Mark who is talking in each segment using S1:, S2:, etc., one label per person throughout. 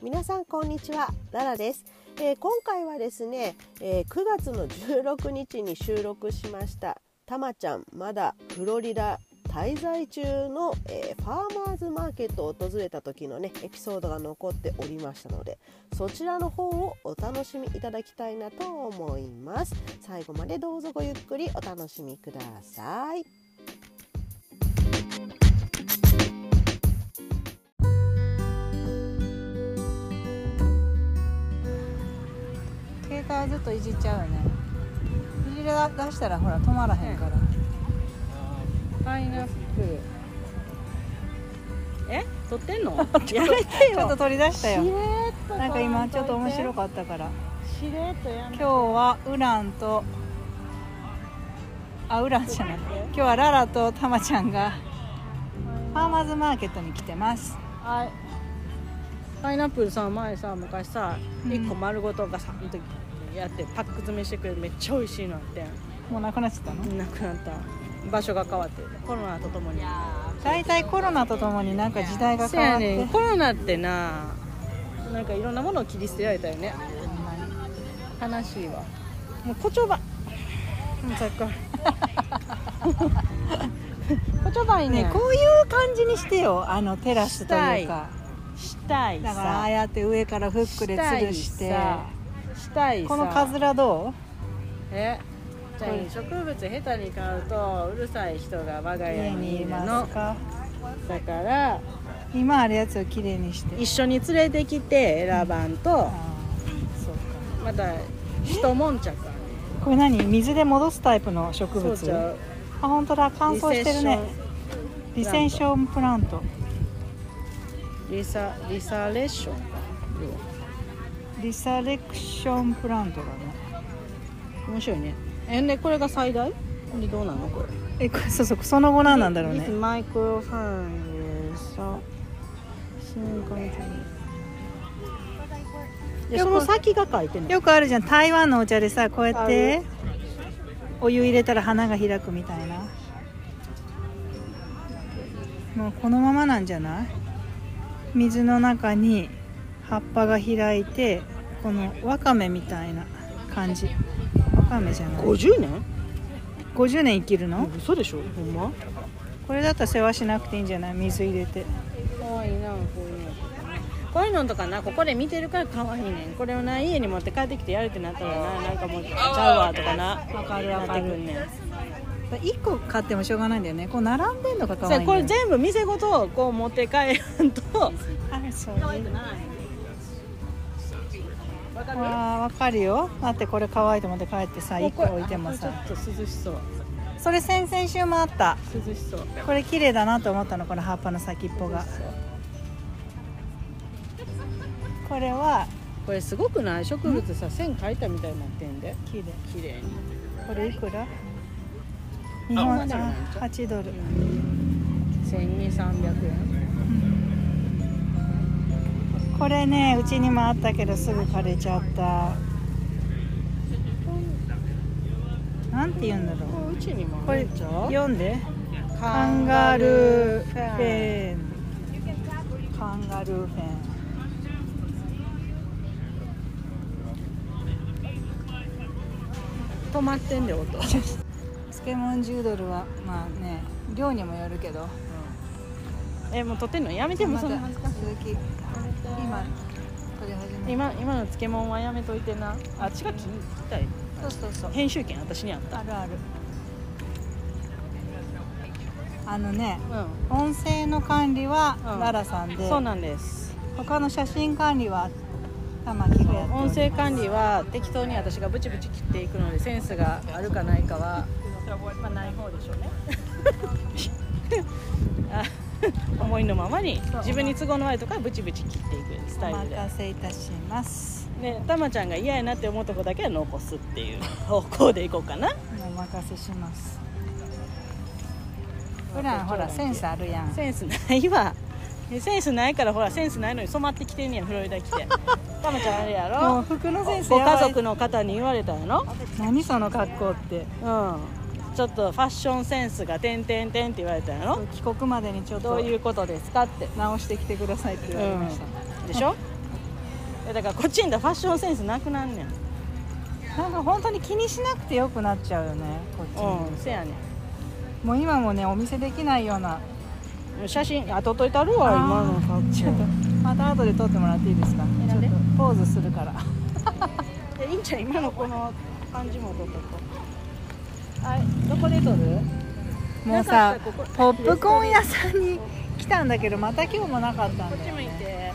S1: 皆さんこんにちは、ララです。今回はですね、9月の16日に収録しましたたまちゃんまだフロリダ滞在中の、ファーマーズマーケットを訪れた時のねエピソードが残っておりましたので、そちらの方をお楽しみいただきたいなと思います。最後までどうぞごゆっくりお楽しみください。
S2: 携帯ずっといじっちゃうよね。いじり出したらほら止まらへんから。
S3: パイナップル。撮ってんの？やめてよ。
S2: ちょっと取り出したよ。
S3: しれっと
S2: なんか今ちょっと面白かったから。
S3: しれっとやめて。
S2: 今日はウランとウランじゃない。今日はララとタマちゃんがファーマーズマーケットに来てます。
S3: はい。パイナップルさ、前さ昔さ、1個丸ごとガサンとやってパック詰めしてくれる、めっちゃ美味しいのあって。
S2: もうなくなっちゃったの？
S3: なくなった。場所が変わってコロナとともに。
S2: だいたいコロナとともになんか時代が変わって。
S3: ね、コロナってなんかいろんなものを切り捨てられたよね。悲しいわ。もう言葉。さっきから言葉いいね。
S2: こういう感じにしてよ。テラスというか。
S3: したいさ。
S2: だからああやって上からフックで吊るして。
S3: したいさ。
S2: このカズラどう？
S3: じゃあ植物下手に買うとうるさい人が我が家にいるの。
S2: 家にいますか？
S3: だから
S2: 今あるやつをきれいにして
S3: 一緒に連れてきて選ばんと、
S2: そうか。
S3: また一悶着。
S2: これ何？水で戻すタイプの植物？
S3: そうちゃう。
S2: 本当だ、乾燥してるね。リセッションプラント。
S3: リサレッション。
S2: リサレクションプラントだね。
S3: 面白いね。でこれが最大？でどうなのこれ？
S2: これそうそう、その後なんだろうね。
S3: マイクロファンさ、その先が書いてるの。
S2: よくあるじゃん、台湾のお茶でさ、こうやってお湯入れたら花が開くみたいな。もうこのままなんじゃない？水の中に葉っぱが開いて、このわかめみたいな感じ。わかめじゃない。
S3: 50年
S2: ？50年生きるの？
S3: 嘘でしょ、ほんま？
S2: これだったら世話しなくていいんじゃない？水入れて。
S3: かわいいな、こういうのとかな、ここで見てるからかわいいねん。これをな、家に持って帰ってきてやるってなったらな、なんかもうちゃうわとかな。
S2: わかるわかる。
S3: なってくんねん。
S2: 1個買ってもしょうがないんだよね。こう並んでんのがかわいいんだよ。
S3: これ全部店ごとこう持って帰ると
S2: そうわかるよ。だってこれ可愛いと思って帰ってさ、1個置いてもさ、
S3: ちょっと涼しそう。
S2: それ先々週もあった。
S3: 涼しそう。
S2: これ綺麗だなと思ったの、この葉っぱの先っぽが。これは
S3: これすごくない？植物さ、線描いたみたいになってんで。
S2: 綺麗。
S3: 綺麗に。
S2: これいくら？日本
S3: 8
S2: ドル。
S3: 1200、300円。
S2: これね、うちにもあったけどすぐ枯れちゃった。なんて言うんだろう。
S3: うちにも
S2: これ
S3: あるんちゃう？
S2: 読んで。カンガルーフェン。カンガルーフェン。
S3: 止まってんで音。
S2: 漬物10ドルはまあね、量にもよるけど。
S3: もう取ってんのやめてもそんな
S2: 続き今取り始め。
S3: 今の漬物はやめといてな。あっちが聞きたい。
S2: そう
S3: 編集権私にあった。
S2: ある。音声の管理はララさんで、
S3: そうなんです。
S2: 他の写真管理は玉木がやっております。
S3: 音声管理は適当に私がブチブチ切っていくので、センスがあるかないかは、まあ、ない方でしょうね。思いのままに自分に都合の悪いとかブチブチ切っていくスタイルで。
S2: お任せいたします。
S3: ね、たまちゃんが嫌やなって思うとこだけは残すっていう方向でいこうかな。
S2: お任せします。普段ほらセンスあるやん。
S3: センスないわ。センスないからほら、センスないのに染まってきてんねや、フロリダ来て。たまちゃんあれやろ。
S2: もう服のセンス
S3: ご
S2: やばい。
S3: 家族の方に言われたやろ。
S2: 何その格好って。
S3: ちょっとファッションセンスがてんてんてんって言われたやろ。
S2: 帰国までにちょっと
S3: どういうことですかって
S2: 直してきてくださいって言われました。
S3: でしょ。 だからこっちにいたらファッションセンスなくなんねん。
S2: なんか本当に気にしなくてよくなっちゃうよね、こっちに。
S3: うん、せやねん。
S2: もう今もね、お見せできないような。
S3: 写真撮っといたるわ、今の格好。
S2: ちょっとまた後で撮ってもらっていいですか。ちょっとポーズするから。
S3: いいんちゃう、今のこの感じも撮っとこう。はい、どこで撮る？
S2: もうさ、
S3: ここ
S2: ポップコーン屋さんに来たんだけど、また今日もなかったんだよね。
S3: こっち向いて。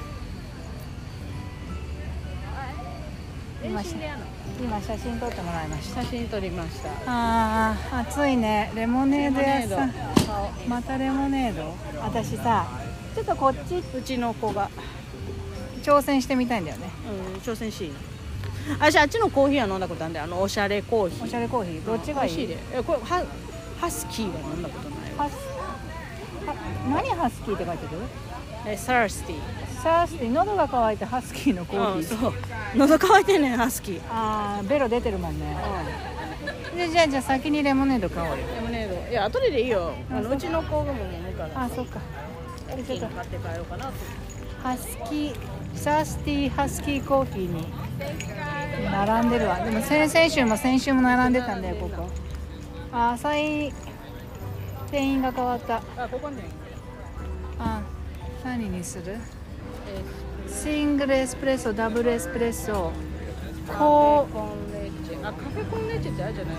S2: 今写真撮ってもらいました。
S3: 写真撮りました。
S2: あー、暑いね。レモネード屋さん。またレモネード。私さ、ちょっとこっち
S3: うちの子が、
S2: 挑戦してみたいんだよね。
S3: 挑戦しい。私あっちのコーヒーは飲んだことあるんで、おしゃれコーヒー。
S2: おしゃれコーヒー、どっちがいい？
S3: 美味しいで。これハスキーは飲んだことないわ。
S2: 何ハスキーって書いてる？
S3: サースティー。
S2: サースティー、喉が渇いてハスキーのコーヒー。
S3: そう。喉乾いてんねん、ハスキー。
S2: あー、ベロ出てるもんね。じゃあ先にレモネード買おうよ。
S3: レモネード。いや、後でいいよ。うちの子がも飲むから。
S2: あ、そっか。
S3: 大きいの買って帰ろうかなと。
S2: ハスキー、サースティーハスキーコーヒーに並んでるわ。でも先週も並んでたんだよ、ここ。あ、浅い店員が変わった。
S3: あ、ここね。
S2: あ、何にする？シングルエスプレッソ、ダブルエスプレッソ、
S3: コーンレッチェ。あ、カフェコーンレッチェってあれじゃない？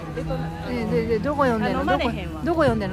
S2: でどこ読んでんの？
S3: 飲まれへんわ。
S2: どこ読んでんの？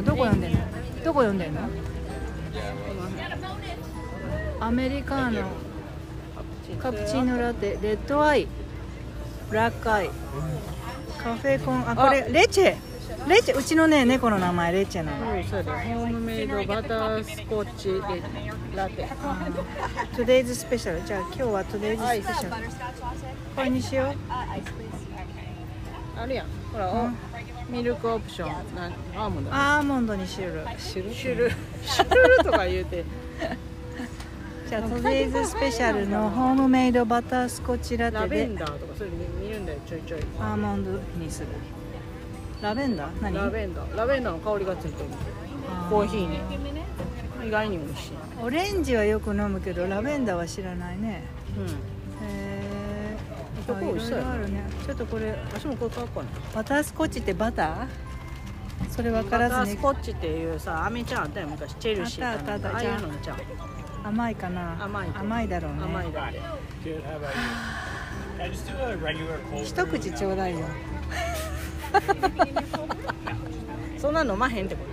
S2: アメリカーノ、カプチーノラテ、レッドアイ、ブラックアイ、カフェコン、あ、これレチェ、うちのね、猫の名前レチェなの。
S3: そうだ。ホームメイドバタースコッチラテ。
S2: トゥデイズスペシャル。じゃあ今日はトゥデイズスペシャル。これにしよう。
S3: あるやん。ほら、ミルクオプション。アーモンド。
S2: アーモンドにシュル
S3: とか言うて。
S2: じゃあトゥデイズスペシャルのホームメイドバタースコッチラテ
S3: ラベ
S2: で
S3: ンダーとかそれ見るんだよ、ちょいちょい。
S2: アーモンドにする。ラベンダー？何？
S3: ラベンダーの香りがついてる。コーヒーに。意外に美味しい。
S2: オレンジはよく飲むけどラベンダーは知らないね。
S3: ここ美味しそうやね。
S2: あるね。ちょっとこれ、
S3: 私もこれ買おうかな。
S2: バタースコッチってバター？それ分からずに。
S3: バタースコッチっていうさ、飴ちゃんあったよ昔、チェルシーかなんか。ああいうのちゃう。
S2: 甘いかな。甘いだろうね。
S3: 甘いだって。
S2: 一口ちょうだいよ。
S3: そんな飲まへんってこと？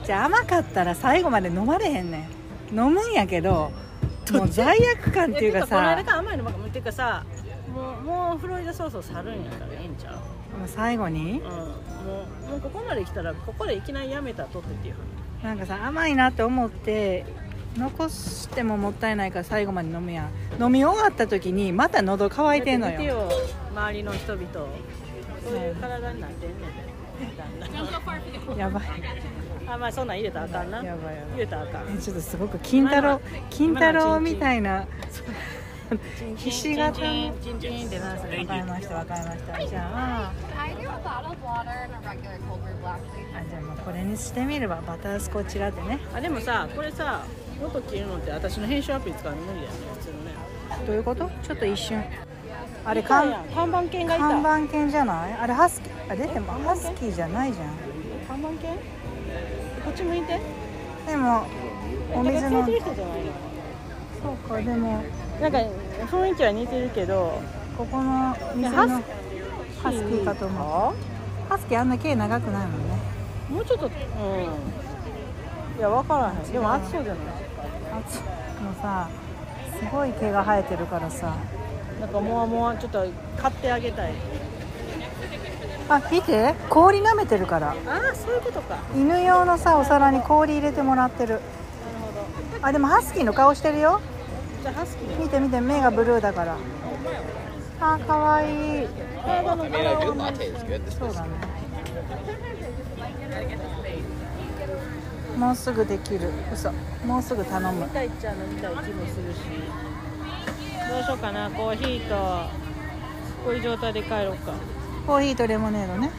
S2: じゃあ甘かったら最後まで飲まれへんねん。飲むんやけど、もう罪悪感っていうかさ。
S3: この間から甘いのばっかっていうかさ、もうフロリダそろそろ去るんやからええんちゃう？
S2: もう最後に？
S3: もうここまで来たらここでいきなりやめたら取ってっていう。
S2: なんかさ、甘いなって思って残してももったいないから最後まで飲むやん。飲み終わった時にまた喉乾いてんのよ。
S3: 周りの人々そういう体になってんねん。
S2: やばい。
S3: あ、まあそんなん入れたらあかんな。
S2: やばい
S3: 入れたらあかん。
S2: ちょっとすごく金太郎みたいなひし形の。
S3: チンチンってなさい。
S2: わかりました。じゃあじゃあもうこれにしてみれば、バタースコッチラテね。
S3: あ、でもさ、これさ、音切るのって私の編集アプリ使うの無理だよね、普通のね。
S2: どういうこと？ちょっと一瞬。あれ
S3: 看板犬がいた。
S2: 看板犬じゃない？あれハスキー。あ、出てもハスキーじゃないじゃん。
S3: 看板犬？こっち向いて。
S2: でもお水の。
S3: てる人じゃないの？
S2: そうか、でも
S3: なんか雰囲気は似てるけど、
S2: ここの店のハスキーかと思う。ハスキーあんな毛長くないもんね。
S3: もうちょっと、いや分からへん。でも暑そうじゃない？
S2: 暑い。もうさ、すごい毛が生えてるからさ。
S3: なんかもうちょっと買ってあげたい。
S2: あ、見て、氷舐めてるから。
S3: ああ、そういうことか。
S2: 犬用のさ、お皿に氷入れてもらってる。
S3: なるほど。
S2: あ、でもハスキーの顔してるよ。
S3: じゃあハスキー。
S2: 見て目がブルーだから。あ、かわいい。
S3: 体の柄は
S2: そうだね。もうすぐできる。嘘。もうすぐ頼む。
S3: 飲みたいっちゃ飲みたい気もするし。どうしようかな。コーヒーとこういう状態で帰ろうか。
S2: コーヒーとレモネードね。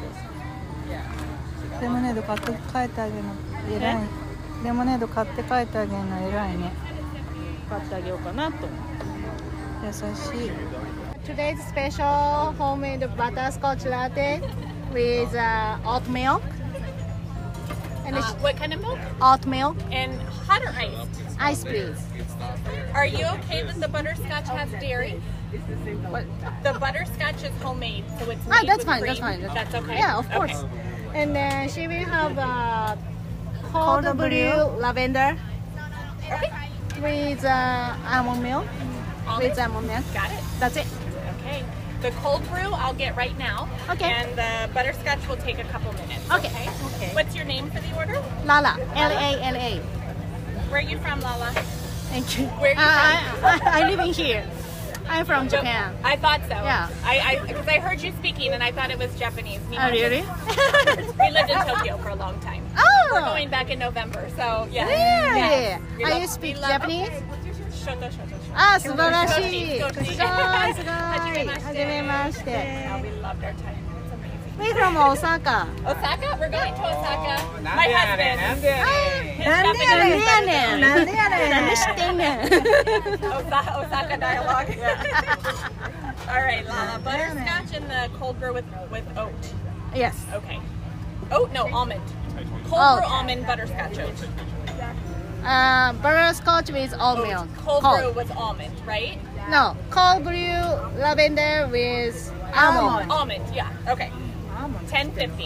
S2: レモネード買って帰ってあげるの偉い。レモネード買って帰ってあげるの偉いね。
S3: 買ってあげようかなと思う。
S2: 優しい。Today's special homemade butterscotch latte with oat milk. And
S4: What kind of milk?
S2: oat milk.
S4: And hot or iced?
S2: Ice please.
S4: Are you okay that the butterscotch has dairy?
S2: What?
S4: The butterscotch is homemade, so it's
S2: Ah,
S4: made
S2: that's
S4: with
S2: fine.
S4: cream.
S2: That's fine.
S4: That's okay.
S2: Yeah, of course.
S4: Okay.
S2: And then she will have cold brew lavender
S4: Okay.
S2: with almond milk. With almond milk.
S4: Got it.
S2: That's it.
S4: Okay. The cold brew I'll get right now.
S2: Okay.
S4: And the butterscotch will take a couple minutes.
S2: Okay.
S3: Okay.
S4: What's your name for the order?
S2: Lala. Lala.
S4: Where are you from, Lala?
S2: Thank you.
S4: Where are you
S2: I live in here. I'm from Japan.
S4: I thought so.
S2: Yeah.
S4: Because I heard you speaking and I thought it was Japanese.
S2: Oh, really?
S4: We lived in Tokyo for a long time.
S2: Oh.
S4: We're going back in November, so yeah.
S2: Really?
S4: Yes. We
S2: Are
S4: love-
S2: you speak
S4: we love-
S2: Japanese?
S4: Shoto, shoto, shoto.
S2: あ、素晴らしい。
S4: 少し
S2: すごいすごい。
S4: はじめまして。
S2: はじめまして。
S4: Yeah, we loved our time. It's amazing.
S2: We from Osaka.
S4: Osaka? We're going to Osaka. My husband.
S3: なんでやねん
S4: His
S2: なんでやねん。
S4: Japanese
S2: なんでやねん。なんで知ってんねん。
S4: Osaka dialogue. All right, Lala. Butterscotch and the cold brew with oat.
S2: Yes.
S4: Okay. Oat? No, almond. Cold
S2: Oat.
S4: brew almond butterscotch oat.
S2: Butterscotch with oat milk.
S4: Cold brew with almond, right?
S2: No, cold brew lavender with almond.
S4: Almond, yeah. Okay. 10.50.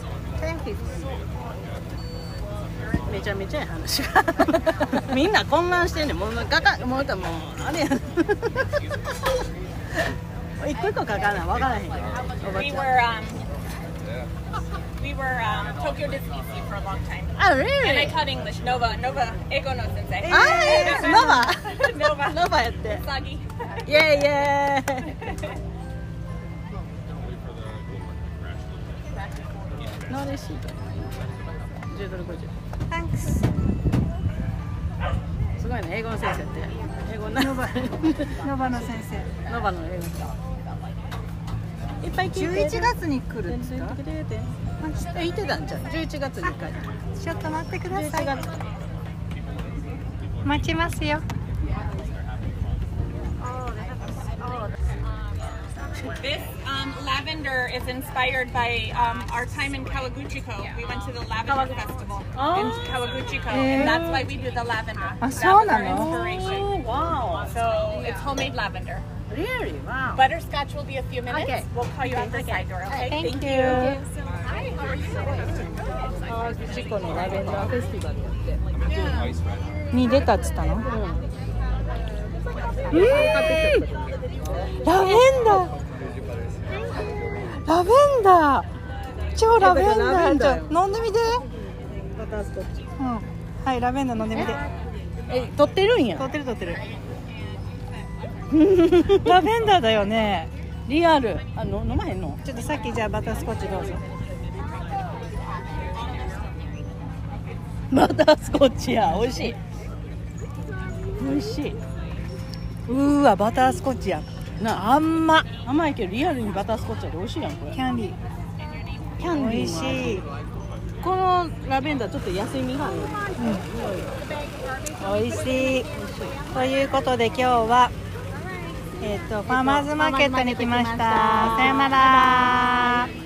S3: めちゃめちゃや話がみんな混乱してんねんもうガタもうあれやん一個一個書かない分からへんよおば
S4: We
S3: ちゃん
S4: were Tokyo Disney Sea for a long time.
S2: Oh,
S4: And I
S2: really?
S4: taught English. Nova, Ego no sensei.
S3: ノバ
S4: Nova.
S3: ノバやって
S4: Sagi.
S3: イエイイエーイノーレシート10ドル50
S2: Thanks.
S3: すごいね英語の先生って英語ノバ
S2: ノバの先生。
S3: ノバの英語いっぱい聞いて
S2: 11月に来るんですか？
S3: 言ってたんじゃん11月に帰って
S2: ちょっと待ってくださ
S3: 11
S2: い。
S3: 月
S2: 待ちますよ。
S4: This lavender is inspired by our time in Kawaguchiko. We went to the lavender festival in Kawaguchiko, and that's why we do the lavender. That
S2: so
S4: was our
S2: na no?
S4: inspiration.
S3: Wow
S4: So it's homemade lavender.
S3: really wow
S4: Butterscotch will be a few minutes.
S2: Okay.
S4: We'll call you out the side door, okay?
S2: Thank you.
S4: Hi, how are you?
S3: 川口湖のラベンダーフェスティバルやって
S2: に出たっつったの？ラベンダー。ラベンダー。超ラベンダー。ちょ飲んでみて。
S3: バタースコッチ
S2: うん。はい、ラベンダー飲んでみて。
S3: 撮ってるんや
S2: 撮ってる撮ってる。ラベンダーだよね。
S3: リアル飲まへんの
S2: ちょっとさっきじゃあバタースコッチどうぞ。
S3: バタースコッチや美味しい美味しいう
S2: わバタースコッチや。
S3: な甘いけどリアルにバタースコッチやで美味しいやんこれ
S2: キャンディ
S3: キャンディーもある
S2: 美味しい。
S3: このラベンダーちょっと野生味がある
S2: 美味しい。ということで今日はファーマーズマーケットに来ました。さよなら。